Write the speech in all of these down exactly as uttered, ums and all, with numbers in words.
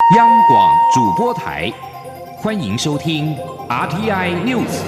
央广主播台，欢迎收听 R T I News。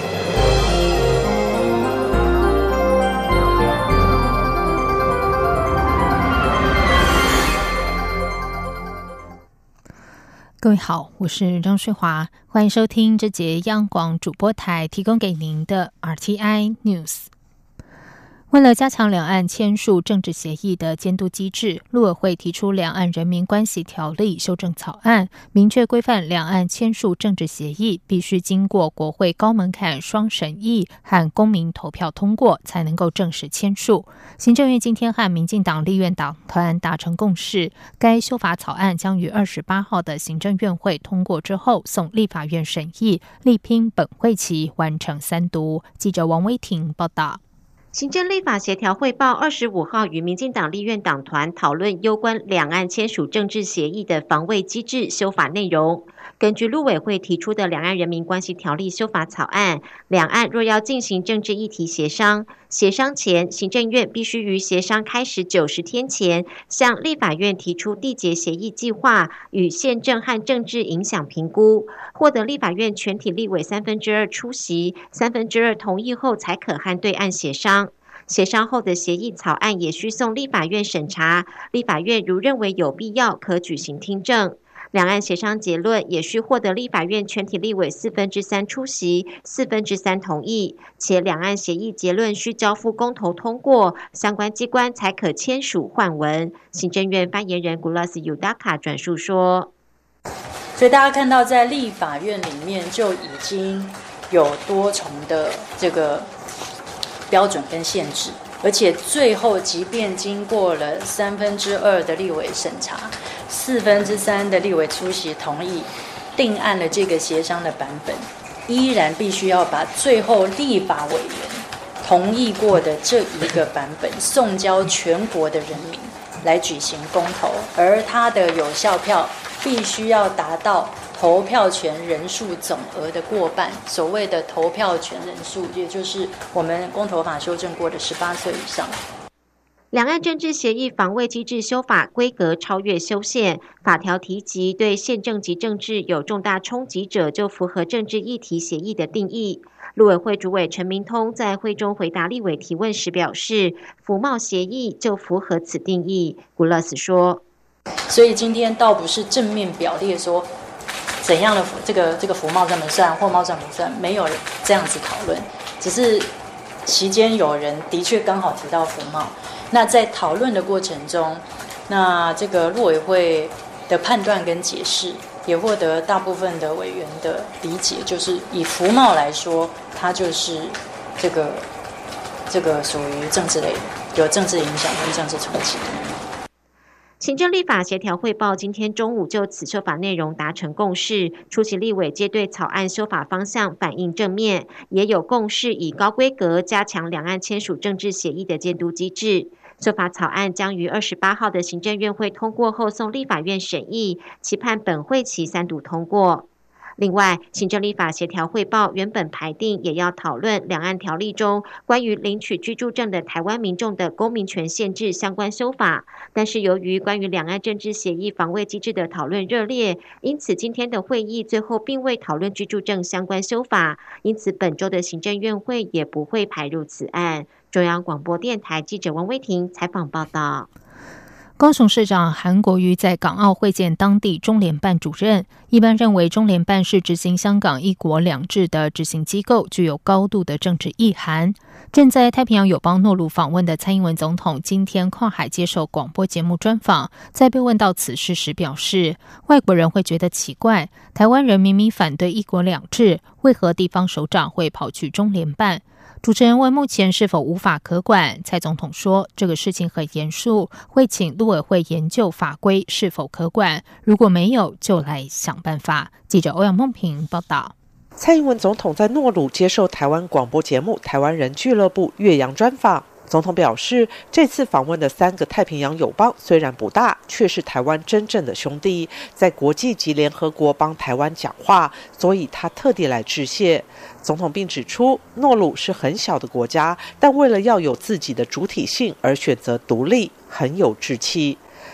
各位好，我是张睡华，欢迎收听这节央广主播台提供给您的 R T I News。为了加强两岸签署政治协议的监督机制，陆委会提出《两岸人民关系条例》修正草案，明确规范两岸签署政治协议必须经过国会高门槛双审议和公民投票通过，才能够正式签署。行政院今天和民进党立院党团达成共识，该修法草案将于二十八号的行政院会通过之后送立法院审议，力拼本会期完成三读。记者王威婷报道。 行政立法协调汇报二十五号与民进党立院党团讨论攸关两岸签署政治协议的防卫机制修法内容。根据陆委会提出的《两岸人民关系条例》修法草案，两岸若要进行政治议题协商，协商前，行政院必须于协商开始九十天前，向立法院提出缔结协议计划与宪政和政治影响评估，获得立法院全体立委三分之二出席、三分之二同意后，才可和对岸协商。协商后的协议草案也需送立法院审查，立法院如认为有必要，可举行听证。两岸协商结论也需获得立法院全体立委四分之三出席、四分之三同意，且两岸协议结论需交付公投通过，相关机关才可签署换文。行政院发言人 Gulas Yudaka 转述说， 所以大家看到在立法院里面就已经有多重的这个标准跟限制，而且最后即便经过了三分之二的立委审查，四分之三的立委出席同意，定案了这个协商的版本，依然必须要把最后立法委员同意过的这一个版本送交全国的人民来举行公投，而它的有效票必须要达到投票权人数总额的过半，所谓的投票权人数，也就是我们公投法修正过的十八岁以上。 两岸政治协议防卫机制修法规格超越修宪，法条提及对宪政及政治有重大冲击者，就符合政治议题协议的定义。陆委会主委陈明通在会中回答立委提问时表示，服贸协议就符合此定义。古勒斯说， 所以今天倒不是正面表列说怎样的这个这个服贸算不算，货贸算不算，没有这样子讨论，只是期间有人的确刚好提到服贸。那在讨论的过程中，那这个陆委会的判断跟解释也获得大部分的委员的理解，就是以服贸来说，它就是这个这个属于政治类的，有政治影响跟政治冲击。 行政立法协调汇报今天中午就此修法内容达成共识，出席立委皆对草案修法方向反应正面，也有共识以高规格加强两岸签署政治协议的监督机制。修法草案将于二十八号的行政院会通过后送立法院审议，期盼本会期三读通过。另外，行政立法协调汇报原本排定也要讨论两岸条例中关于领取居住证的台湾民众的公民权限制相关修法，但是由于关于两岸政治协议防卫机制的讨论热烈，因此今天的会议最后并未讨论居住证相关修法，因此本周的行政院会也不会排入此案。中央广播电台记者王威婷采访报道。 高雄市长韩国瑜在港澳会见当地中联办主任，一般认为中联办是执行香港一国两制的执行机构，具有高度的政治意涵。正在太平洋友邦诺鲁访问的蔡英文总统今天跨海接受广播节目专访，在被问到此事时表示，外国人会觉得奇怪，台湾人明明反对一国两制，为何地方首长会跑去中联办？主持人问目前是否无法可管，蔡总统说这个事情很严肃，会请陆委会研究法规是否可管，如果没有就来想办法。记者欧阳梦平报道。 蔡英文总统在诺鲁接受台湾广播节目台湾人俱乐部岳阳专访，总统表示，这次访问的三个太平洋友邦虽然不大，却是台湾真正的兄弟，在国际及联合国帮台湾讲话，所以他特地来致谢。总统并指出，诺鲁是很小的国家，但为了要有自己的主体性而选择独立，很有志气。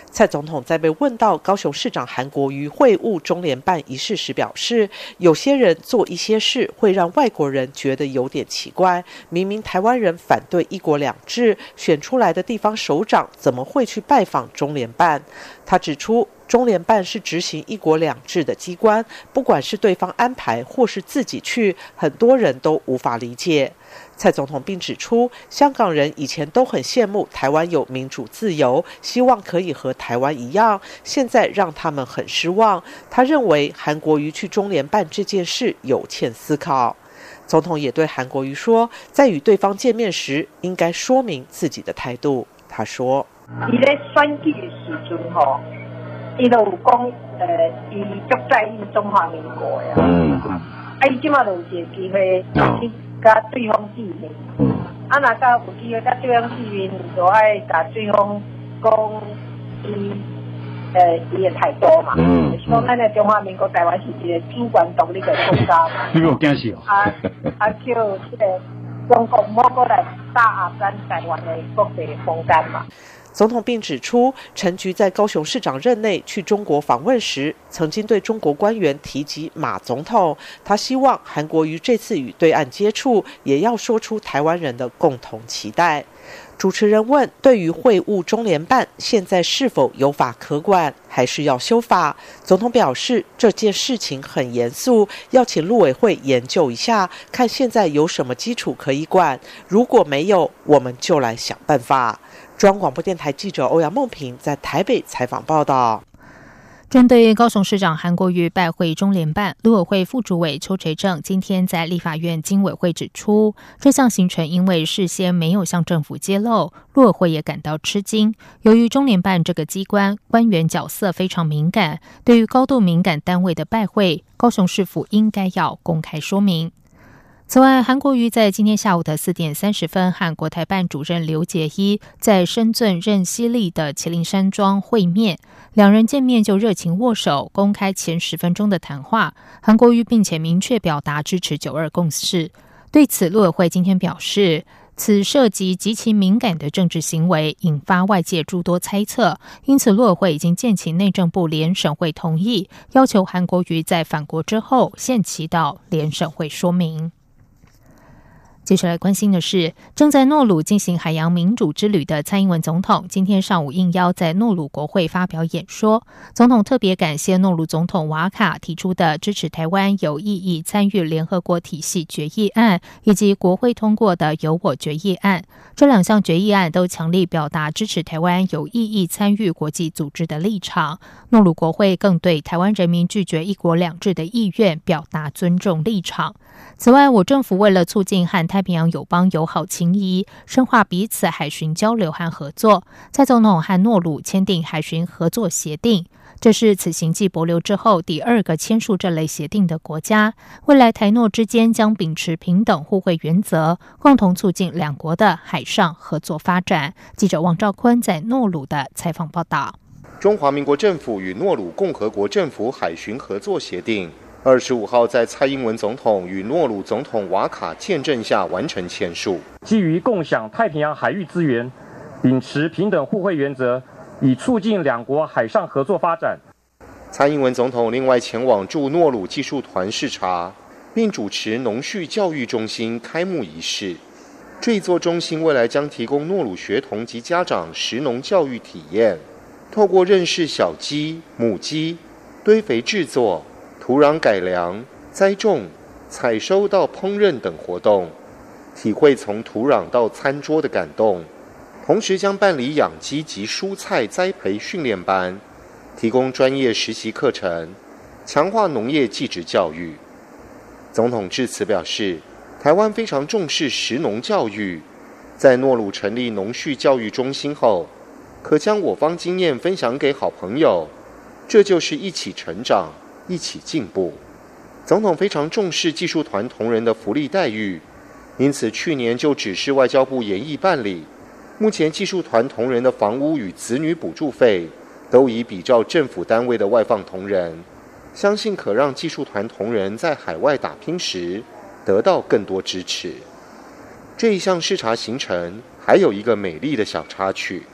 蔡总统在被问到高雄市长韩国瑜会晤中联办一事时表示，有些人做一些事会让外国人觉得有点奇怪，明明台湾人反对一国两制，选出来的地方首长怎么会去拜访中联办？他指出，中联办是执行一国两制的机关，不管是对方安排或是自己去，很多人都无法理解。蔡总统并指出，香港人以前都很羡慕台湾有民主自由，希望可以和台湾一样，现在让他们很失望。他认为韩国瑜去中联办这件事有欠思考。总统也对韩国瑜说，在与对方见面时应该说明自己的态度。他说， 他在选举的时阵吼，他就有说呃，他足在意中华民国呀，嗯，啊，他现在就有一个机会去跟对方见面，嗯，啊，那到有机会跟对方见面，就要跟对方讲他呃，伊的态度嘛，嗯，就是讲咱的中华民国台湾是一个主权独立的国家嘛，你有惊死哦？啊啊，叫这个中国莫过来打压咱台湾的国际空间嘛。 总统并指出，陈菊在高雄市长任内去中国访问时，曾经对中国官员提及马总统，他希望韩国瑜这次与对岸接触，也要说出台湾人的共同期待。主持人问，对于会晤中联办现在是否有法可管，还是要修法？总统表示，这件事情很严肃，要请陆委会研究一下，看现在有什么基础可以管，如果没有，我们就来想办法。中央广播电台记者欧阳梦平在台北采访报道。 针对高雄市长韩国瑜拜会中联办，陆委会副主委邱垂正今天在立法院经委会指出，这项行程因为事先没有向政府揭露，陆委会也感到吃惊。由于中联办这个机关官员角色非常敏感，对于高度敏感单位的拜会，高雄市府应该要公开说明。此外，韩国瑜在今天下午的四点三十分和国台办主任刘捷一在深圳任西利的麒麟山庄会面，两人见面就热情握手，公开前十分钟的谈话。韩国瑜并且明确表达支持九二共识。对此，陆委会今天表示，此涉及极其敏感的政治行为，引发外界诸多猜测，因此陆委会已经建请内政部联审会同意，要求韩国瑜在返国之后限期到联审会说明。接下来关心的是，正在诺鲁进行海洋民主之旅的蔡英文总统，今天上午应邀在诺鲁国会发表演说。总统特别感谢诺鲁总统瓦卡提出的支持台湾有意义参与联合国体系决议案，以及国会通过的有我决议案。这两项决议案都强力表达支持台湾有意义参与国际组织的立场。诺鲁国会更对台湾人民拒绝一国两制的意愿表达尊重立场。此外，我政府为了促进和太平洋友邦友好情谊，深化彼此海巡交流和合作，蔡总统和诺鲁签订海巡合作协定，这是此行继帛琉之后第二个签署这类协定的国家。未来台诺之间将秉持平等互惠原则，共同促进两国的海上合作发展。记者王兆坤在诺鲁的采访报道。 中华民国政府与诺鲁共和国政府海巡合作协定二十五号在蔡英文总统与诺鲁总统瓦卡见证下完成签署。 基于共享太平洋海域资源，秉持平等互惠原则，以促进两国海上合作发展。 蔡英文总统另外前往驻诺鲁技术团视察，并主持农畜教育中心开幕仪式。这一座中心未来将提供诺鲁学童及家长食农教育体验，透过认识小鸡、母鸡、堆肥制作、土壤改良、栽种、采收到烹饪等活动，体会从土壤到餐桌的感动。同时将办理养鸡及蔬菜栽培训练班，提供专业实习课程，强化农业技职教育。总统致辞表示，台湾非常重视食农教育，在诺鲁成立农畜教育中心后，可将我方经验分享给好朋友，这就是一起成长，一起进步。总统非常重视技术团同仁的福利待遇，因此去年就指示外交部研议办理。目前技术团同仁的房屋与子女补助费都已比照政府单位的外放同仁，相信可让技术团同仁在海外打拼时得到更多支持。这一项视察行程还有一个美丽的小插曲。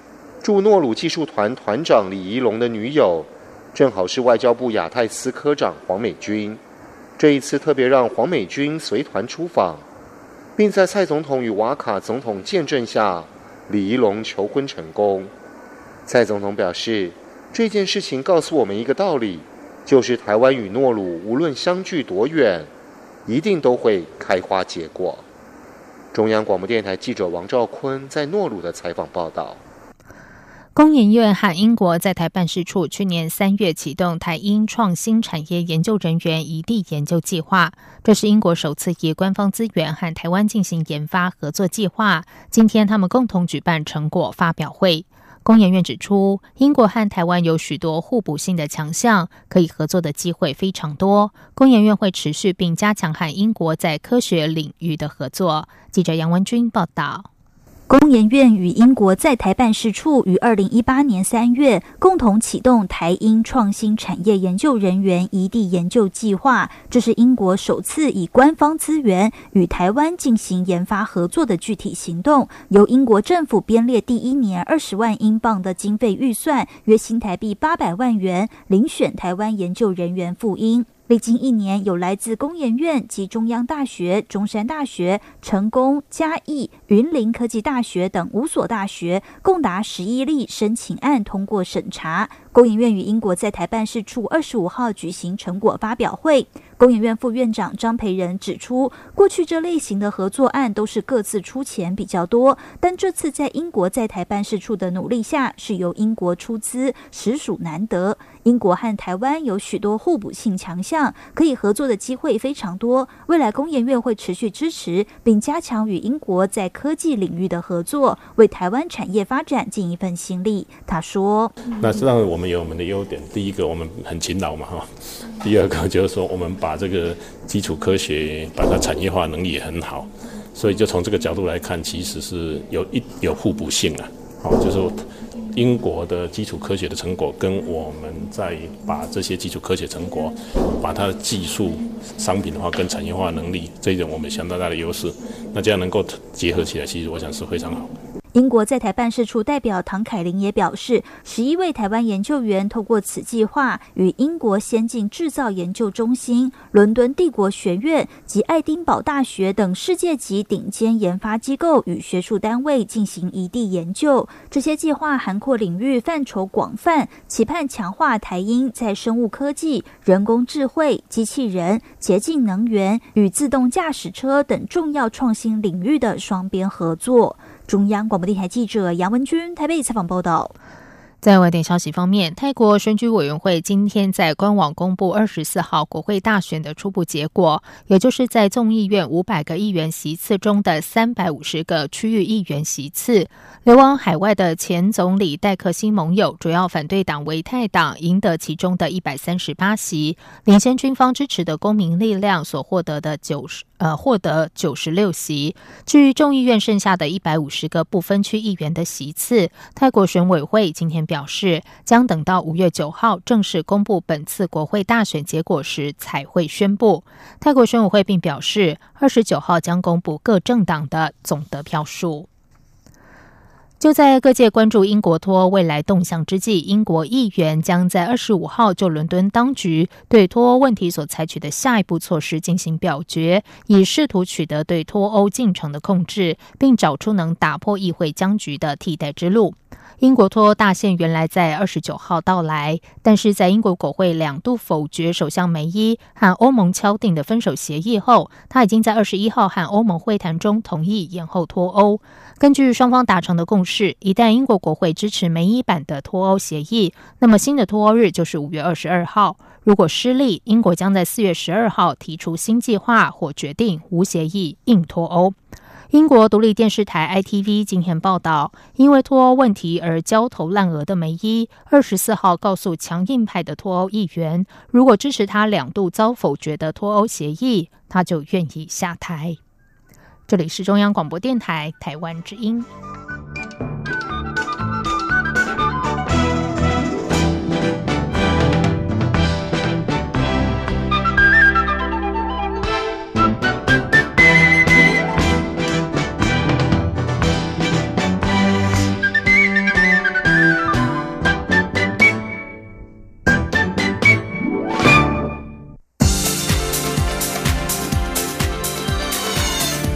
驻诺鲁技术团团长李宜龙的女友，正好是外交部亚太司科长黄美君。这一次特别让黄美君随团出访，并在蔡总统与瓦卡总统见证下，李宜龙求婚成功。蔡总统表示，这件事情告诉我们一个道理，就是台湾与诺鲁无论相距多远，一定都会开花结果。中央广播电台记者王兆坤在诺鲁的采访报道。 工研院和英国在台办事处去年三月启动台英创新产业研究人员移地研究计划，这是英国首次以官方资源和台湾进行研发合作计划。今天他们共同举办成果发表会。工研院指出，英国和台湾有许多互补性的强项，可以合作的机会非常多。工研院会持续并加强和英国在科学领域的合作。记者杨文君报道。 工研院与英国在台办事处于二零一八年三月共同启动台英创新产业研究人员移地研究计划，这是英国首次以官方资源与台湾进行研发合作的具体行动，由英国政府编列第一年二十万英镑的经费预算，约新台币八百万元，遴选台湾研究人员赴英。历经一年，有来自工研院及中央大学、中山大学、成功、嘉义、云林科技大学等五所大学，共达十一例申请案通过审查。工研院与英国在台办事处二十五号举行成果发表会。工研院副院长张培仁指出，过去这类型的合作案都是各自出钱比较多，但这次在英国在台办事处的努力下，是由英国出资，实属难得。英国和台湾有许多互补性强项，可以合作的机会非常多。未来工研院会持续支持，并加强与英国在科技领域的合作，为台湾产业发展尽一份心力。他说：“ 那实际上我们有我们的优点，第一个我们很勤劳嘛，哈。第二个就是说我们把这个基础科学把它产业化能力也很好，所以就从这个角度来看，其实是有一有互补性啊。好，就是说英国的基础科学的成果跟我们在把这些基础科学成果把它的技术商品化跟产业化能力，这一点我们相当大的优势，那这样能够结合起来，其实我想是非常好。 英国在台办事处代表唐凯琳也表示，十一位台湾研究员透过此计划，与英国先进制造研究中心、伦敦帝国学院及爱丁堡大学等世界级顶尖研发机构与学术单位进行移地研究。这些计划涵括领域范畴广泛，期盼强化台英在生物科技、人工智慧、机器人、洁净能源与自动驾驶车等重要创新领域的双边合作。中央广播电台记者杨文君台北采访报道。 在外电消息方面，泰国选举委员会今天在官网公布二十四号国会大选的初步结果，也就是在众议院五百个议员席次中的三百五十个区域议员席次，流亡海外的前总理戴克辛盟友主要反对党维泰党赢得其中的一百三十八席，领先军方支持的公民力量所获得的九十呃获得九十六席。至于众议院剩下的一百五十个不分区议员的席次，泰国选委会今天表示，将等到五月九号正式公布本次国会大选结果时才会宣布。泰国选委会并表示，二十九号将公布各政党的总得票数。就在各界关注英国脱欧未来动向之际，英国议员将在二十五号就伦敦当局对脱欧问题所采取的下一步措施进行表决，以试图取得对脱欧进程的控制，并找出能打破议会僵局的替代之路。英国脱欧大限原来在二十九号到来，但是在英国国会两度否决首相梅伊和欧盟敲定的分手协议后，他已经在二十一号和欧盟会谈中同意延后脱欧。根据双方达成的共识，一旦英国国会支持梅伊版的脱欧协议，那么新的脱欧日就是五月二十二号。如果失利，英国将在四月十二号提出新计划或决定无协议硬脱欧。英国独立电视台 I T V 今天报道，因为脱欧问题而焦头烂额的梅伊，二十四号告诉强硬派的脱欧议员，如果支持他两度遭否决的脱欧协议，他就愿意下台。这里是中央广播电台台湾之音。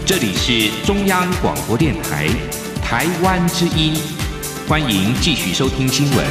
这里是中央广播电台台湾之音，欢迎继续收听新闻。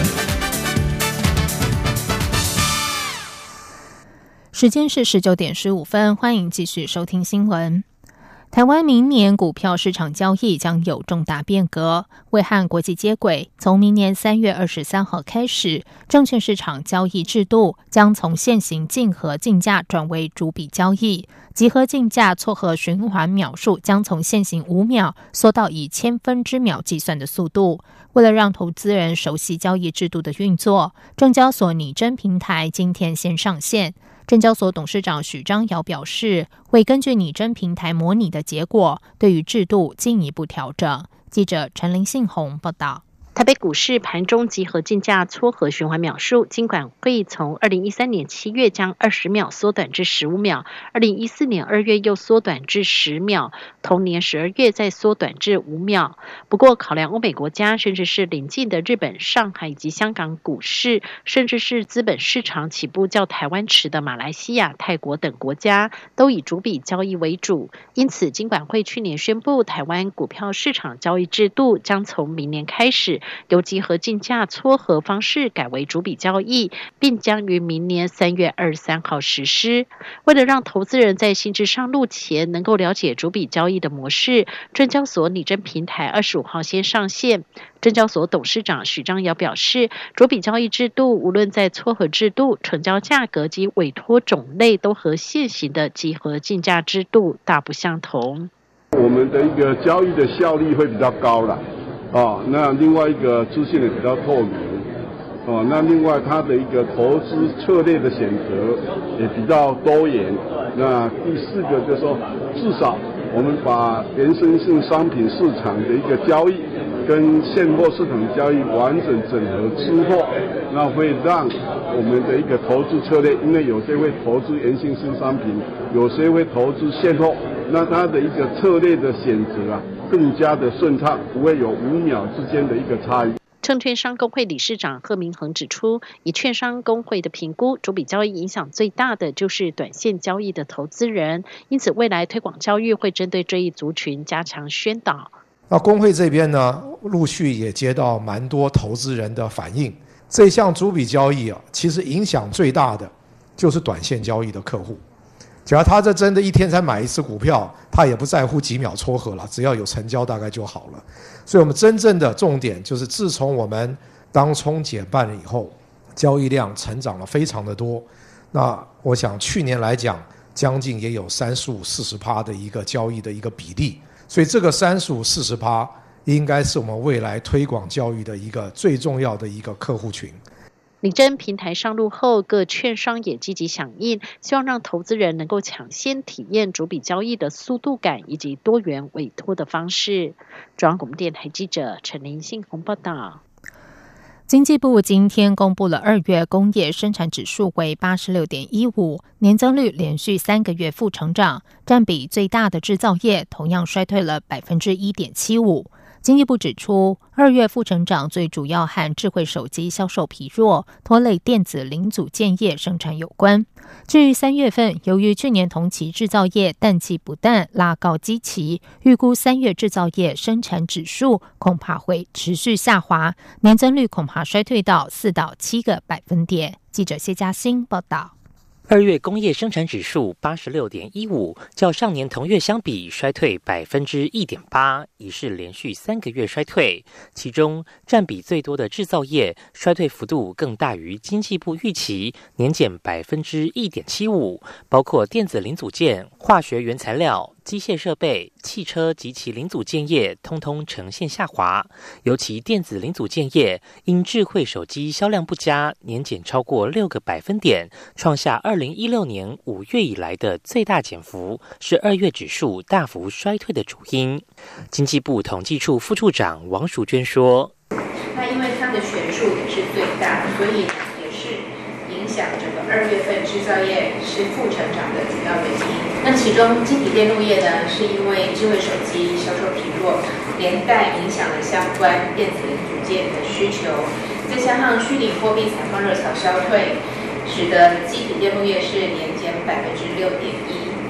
时间是十九点十五分，欢迎继续收听新闻。台湾明年股票市场交易将有重大变革，为和国际接轨，从明年三月二十三号开始，证券市场交易制度将从现行竞合竞价转为逐笔交易，集合竞价撮合循环秒数将从现行五秒缩到以千分之秒计算的速度。为了让投资人熟悉交易制度的运作，证交所拟真平台今天先上线。证交所董事长许章尧表示，会根据拟真平台模拟的结果，对于制度进一步调整。记者陈林信宏报道。 台北股市盘中集合竞价撮合循环秒数，金管会从二零一三年七月将二十秒缩短至十五秒，二零一四年二月又缩短至十秒，同年十二月再缩短至五秒。不过，考量欧美国家，甚至是邻近的日本、上海以及香港股市，甚至是资本市场起步较台湾迟的马来西亚、泰国等国家，都以逐笔交易为主。因此，金管会去年宣布，台湾股票市场交易制度将从明年开始由集合竞价撮合方式改为逐笔交易，并将于明年三月二十三号实施。为了让投资人在新制上路前能够了解逐笔交易的模式，证交所拟真平台二十五号先上线。证交所董事长许章尧表示，逐笔交易制度无论在撮合制度、成交价格及委托种类，都和现行的集合竞价制度大不相同。 我们的一个交易的效率会比较高啦。哦，那另外一个资讯也比较透明，哦，那另外它的一个投资策略的选择也比较多元。那第四个就是说，至少我们把衍生性商品市场的一个交易跟现货市场交易完整整合之后，那会让我们的一个投资策略，因为有些会投资衍生性商品，有些会投资现货，那它的一个策略的选择啊，更加的顺畅，不会有五秒之间的一个差异。 证券商工会理事长贺明恒指出，以券商工会的评估，逐笔交易影响最大的就是短线交易的投资人，因此未来推广教育会针对这一族群加强宣导。 那工会这边呢，陆续也接到蛮多投资人的反应，这项逐笔交易啊，其实影响最大的就是短线交易的客户。假如他这真的一天才买一次股票，他也不在乎几秒撮合了，只要有成交大概就好了。所以我们真正的重点就是，自从我们当冲减半了以后，交易量成长了非常的多。那我想去年来讲，将近也有三十五、四十趴的一个交易的一个比例。所以这个三十五、四十趴应该是我们未来推广教育的一个最重要的一个客户群。 拟真平台上路后，各券商也积极响应，希望让投资人能够抢先体验逐笔交易的速度感以及多元委托的方式。中央广播电台记者陈林信宏报道。 经济部今天公布了二月工业生产指数为 八十六点一五， 年增率连续三个月负成长，占比最大的制造业同样衰退了 百分之一点七五。经济部指出，二月负成长最主要和智慧手机销售疲弱，拖累电子零组件业生产有关。至于三月份，由于去年同期制造业淡季不淡，拉高基期，预估三月制造业生产指数恐怕会持续下滑，年增率恐怕衰退到四到七个百分点。记者谢嘉欣报道。 二月工业生产指数 八十六点一五， 较上年同月相比衰退 百分之一点八， 已是连续三个月衰退。其中占比最多的制造业衰退幅度更大于经济部预期，年减 百分之一点七五， 包括电子零组件、化学原材料、机械设备、汽车及其零组件业通通呈现下滑，尤其电子零组件业因智慧手机销量不佳，年减超过六个百分点，创下二零一六年五月以来的最大减幅，是二月指数大幅衰退的主因。经济部统计处副处长王淑娟说：“ 那因为它的选数也是最大，所以也是影响整个二月份制造业是负成长的主要原因。那其中晶体电路业呢，是因为智慧手机销售疲弱，连带影响了相关电子零组件的需求，再加上虚拟货币采矿热潮消退，使得晶体电路业是年减百分之六点一。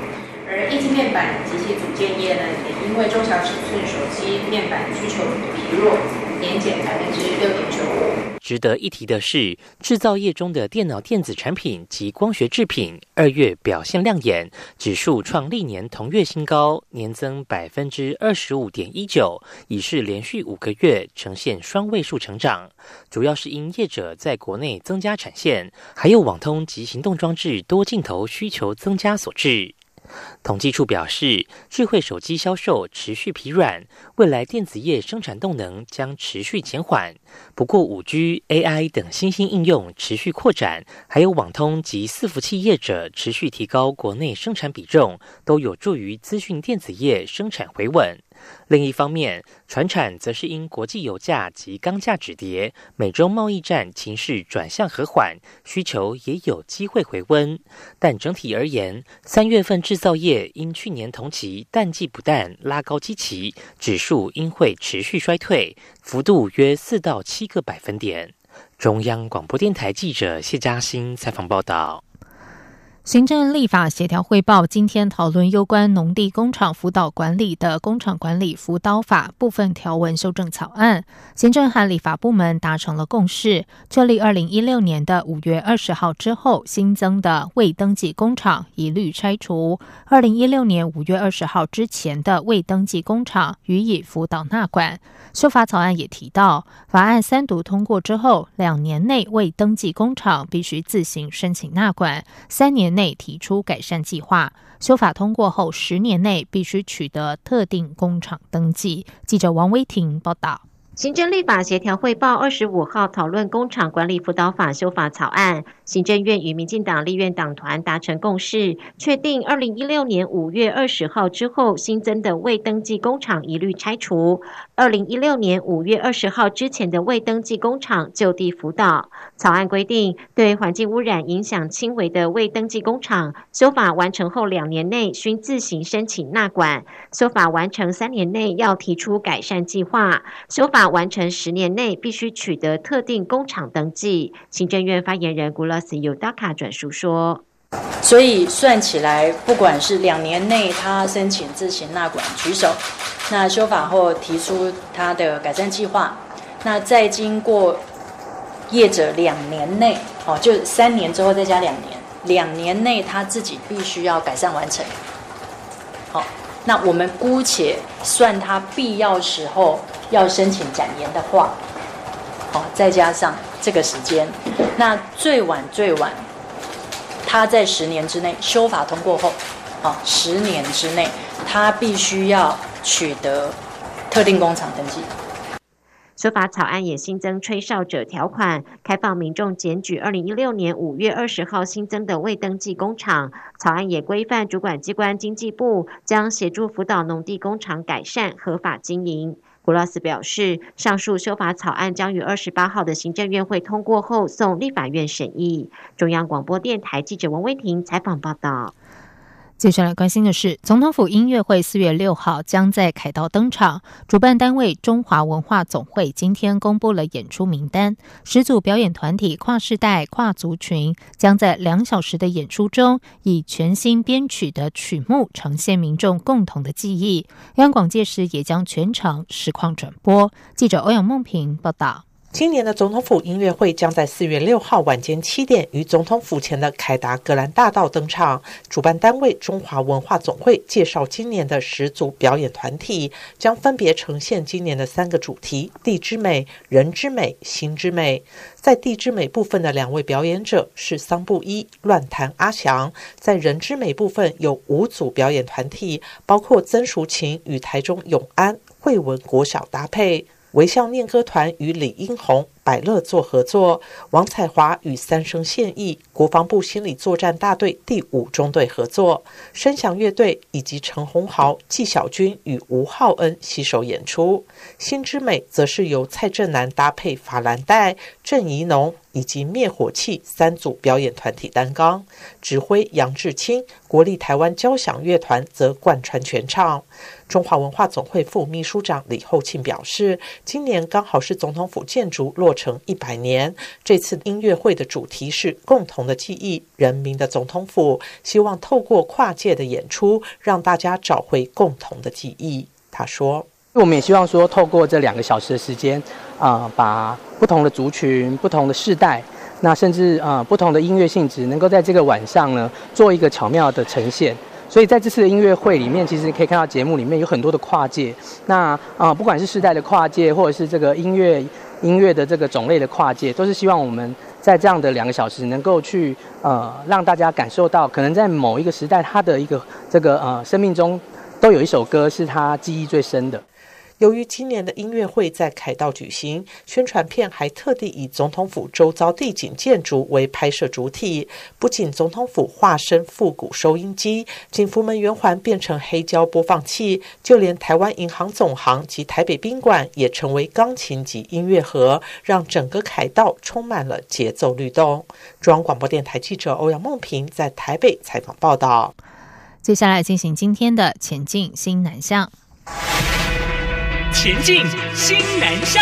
而液晶面板及其组件业呢，也因为中小尺寸手机面板需求疲弱，年减百分之六点九五。 值得一提的是，制造业中的电脑电子产品及光学制品二月表现亮眼，指数创历年同月新高，年增百分之二十五点一九，已是连续五个月呈现双位数成长。主要是因业者在国内增加产线，还有网通及行动装置多镜头需求增加所致。统计处表示，智慧手机销售持续疲软，未来电子业生产动能将持续减缓。不过 五 G、A I 等新兴应用持续扩展，还有网通及伺服器业者持续提高国内生产比重，都有助于资讯电子业生产回稳。另一方面，传产则是因国际油价及钢价止跌，美中贸易战情势转向和缓，需求也有机会回温。但整体而言，三月份制造业因去年同期淡季不淡拉高基期，指数应会持续衰退，幅度约四到七个百分点。中央广播电台记者谢嘉欣采访报道。 行政立法协调汇报今天讨论有关农地工厂辅导管理的工厂管理辅导法部分条文修正草案，行政和立法部门达成了共识，确立二零一六年的五月二十号之后新增的未登记工厂一律拆除，二零一六年五月二十号之前的未登记工厂予以辅导纳管。修法草案也提到，法案三读通过之后，两年内未登记工厂必须自行申请纳管，三年内提出改善计划。修法通过后，十年内必须取得特定工厂登记。记者王威婷报道。 行政立法协调汇报二十五号讨论工厂管理辅导法修法草案，行政院与民进党立院党团达成共识，确定二零一六年五月二十号之后新增的未登记工厂一律拆除，二零一六年五月二十号之前的未登记工厂就地辅导。草案规定，对环境污染影响轻微的未登记工厂，修法完成后两年内需自行申请纳管，修法完成三年内要提出改善计划，修法完成十年内必须取得特定工厂登记。行政院发言人古拉斯尤达卡转述说， 所以算起来，不管是两年内他申请自行纳管举手，那修法后提出他的改善计划，那再经过业者两年内，哦，就三年之后再加两年，两年内他自己必须要改善完成。好，那我们姑且算他必要时候要申请展延的话，好，再加上这个时间，那最晚最晚，他在十年之内修法通过后，好，十年之内他必须要取得特定工厂登记。 修法草案也新增吹哨者条款，开放民众检举二零一六年五月二十号新增的未登记工厂。草案也规范主管机关经济部将协助辅导农地工厂改善合法经营。古拉斯表示，上述修法草案将于二十八号的行政院会通过后送立法院审议。中央广播电台记者王威婷采访报道。 接下来关心的是，总统府音乐会四月六号将在凯道登场。主办单位中华文化总会今天公布了演出名单，十组表演团体跨世代、跨族群将在两小时的演出中，以全新编曲的曲目呈现民众共同的记忆。央广届时也将全程实况转播。记者欧阳梦平报道。 今年的总统府音乐会将在四月六号晚间七点于总统府前的凯达格兰大道登场。主办单位中华文化总会介绍今年的十组表演团体，将分别呈现今年的三个主题：地之美、人之美、心之美。在地之美部分的两位表演者是桑布伊、乱弹阿翔；在人之美部分有五组表演团体，包括曾淑琴与台中永安惠文国小搭配。微笑念歌团与李英宏、百乐做合作，王彩华与三生现役国防部心理作战大队第五中队合作，声响乐队以及陈鸿豪、纪晓君与吴浩恩携手演出。心之美则是由蔡正南搭配法兰黛、郑怡农以及灭火器三组表演团体担纲，指挥杨志清，国立台湾交响乐团则贯穿全场。中华文化总会副秘书长李厚庆表示，今年刚好是总统府建筑落成一百年。这次音乐会的主题是共同的记忆，人民的总统府，希望透过跨界的演出，让大家找回共同的记忆。他说， 我们也希望说透过这两个小时的时间啊、呃，把不同的族群、不同的世代，那甚至啊、呃、不同的音乐性质，能够在这个晚上呢做一个巧妙的呈现。所以在这次的音乐会里面，其实可以看到节目里面有很多的跨界，那啊、呃、不管是世代的跨界，或者是这个音乐音乐的这个种类的跨界，都是希望我们在这样的两个小时能够去呃让大家感受到，可能在某一个时代他的一个这个呃生命中都有一首歌是他记忆最深的。 由于今年的音乐会在凯道举行，宣传片还特地以总统府周遭地景建筑为拍摄主体。不仅总统府化身复古收音机，景福门圆环变成黑胶播放器，就连台湾银行总行及台北宾馆也成为钢琴及音乐盒，让整个凯道充满了节奏律动。中央广播电台记者欧阳梦平在台北采访报道。 接下来进行今天的前进新南向。 前进新南向。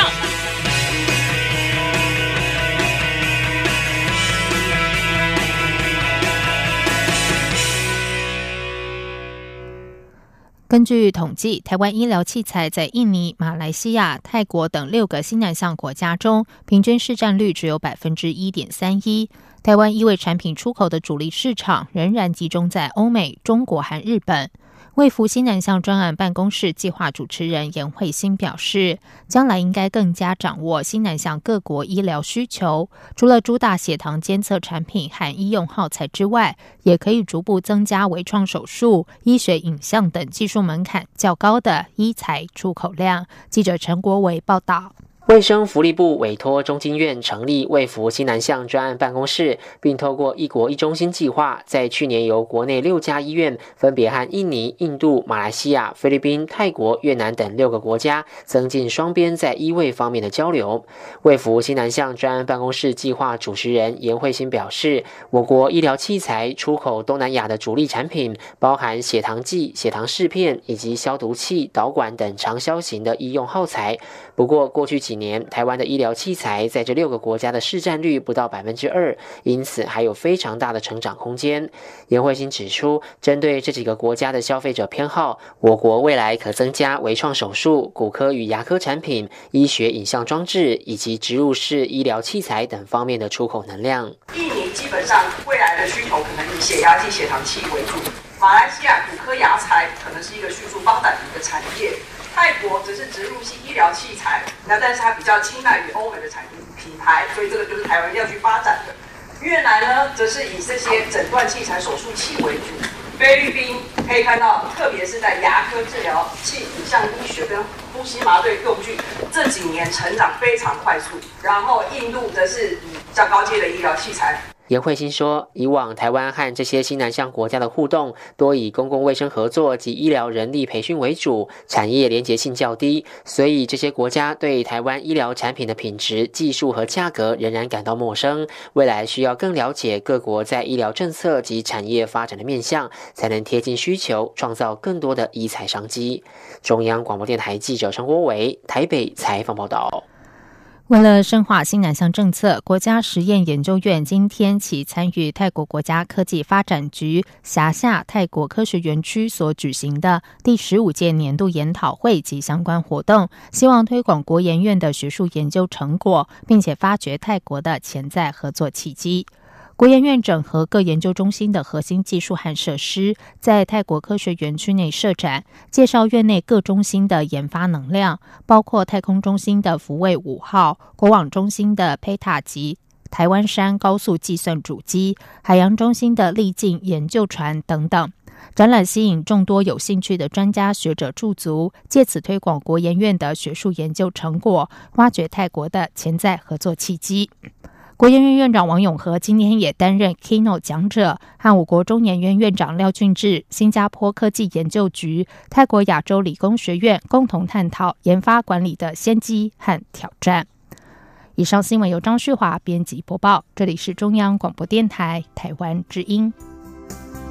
根据统计，台湾医疗器材在印尼、马来西亚、泰国等六个新南向国家中，平均市占率只有 百分之一点三一。台湾医卫产品出口的主力市场仍然集中在欧美、中国和日本。卫福新南向专案办公室计划主持人严慧欣表示，将来应该更加掌握新南向各国医疗需求，除了主打血糖监测产品和医用耗材之外，也可以逐步增加微创手术、医学影像等技术门槛较高的医材出口量。记者陈国维报道。 卫生福利部委托中经院成立卫福新南向专案办公室，并透过一国一中心计划，在去年由国内六家医院分别和印尼、印度、马来西亚、菲律宾、泰国、越南等六个国家增进双边在医卫方面的交流。卫福新南向专案办公室计划主持人严慧欣表示，我国医疗器材出口东南亚的主力产品包含血糖计、血糖试片以及消毒器、导管等长销型的医用耗材。不过过去几年，台湾的医疗器材在这六个国家的市占率不到 百分之二， 因此还有非常大的成长空间。严慧欣指出，针对这几个国家的消费者偏好，我国未来可增加微创手术、骨科与牙科产品、医学影像装置以及植入式医疗器材等方面的出口能量。 印尼基本上未来的需求可能以血压计、血糖器为主，马来西亚骨科牙材可能是一个迅速发展的一个产业，泰国则是植入性医疗器材，那但是它比较青睐于欧美的产品品牌，所以这个就是台湾要去发展的。越南呢，则是以这些诊断器材、手术器为主。菲律宾可以看到，特别是在牙科治疗器、影像医学跟呼吸麻醉用具这几年成长非常快速。然后印度则是以较高阶的医疗器材。 严慧欣说，以往台湾和这些新南向国家的互动多以公共卫生合作及医疗人力培训为主，产业连结性较低，所以这些国家对台湾医疗产品的品质、技术和价格仍然感到陌生。未来需要更了解各国在医疗政策及产业发展的面向，才能贴近需求，创造更多的医材商机。中央广播电台记者陈国伟台北采访报道。 为了深化新南向政策，国家实验研究院今天起参与泰国国家科技发展局辖下泰国科学园区所举行的第十五届年度研讨会及相关活动，希望推广国研院的学术研究成果，并且发掘泰国的潜在合作契机。国研院整合各研究中心的核心技术和设施，在泰国科学园区内设展，介绍院内各中心的研发能量，包括太空中心的福卫五号、国网中心的佩塔级台湾山高速计算主机、海洋中心的力镜研究船等等。展览吸引众多有兴趣的专家学者驻足，借此推广国研院的学术研究成果，挖掘泰国的潜在合作契机。国研院院长王永和今天也担任 keynote 讲者，和我国中研院院长廖俊智、新加坡科技研究局、泰国亚洲理工学院共同探讨研发管理的先机和挑战。以上新闻由张旭华编辑播报，这里是中央广播电台台湾之音。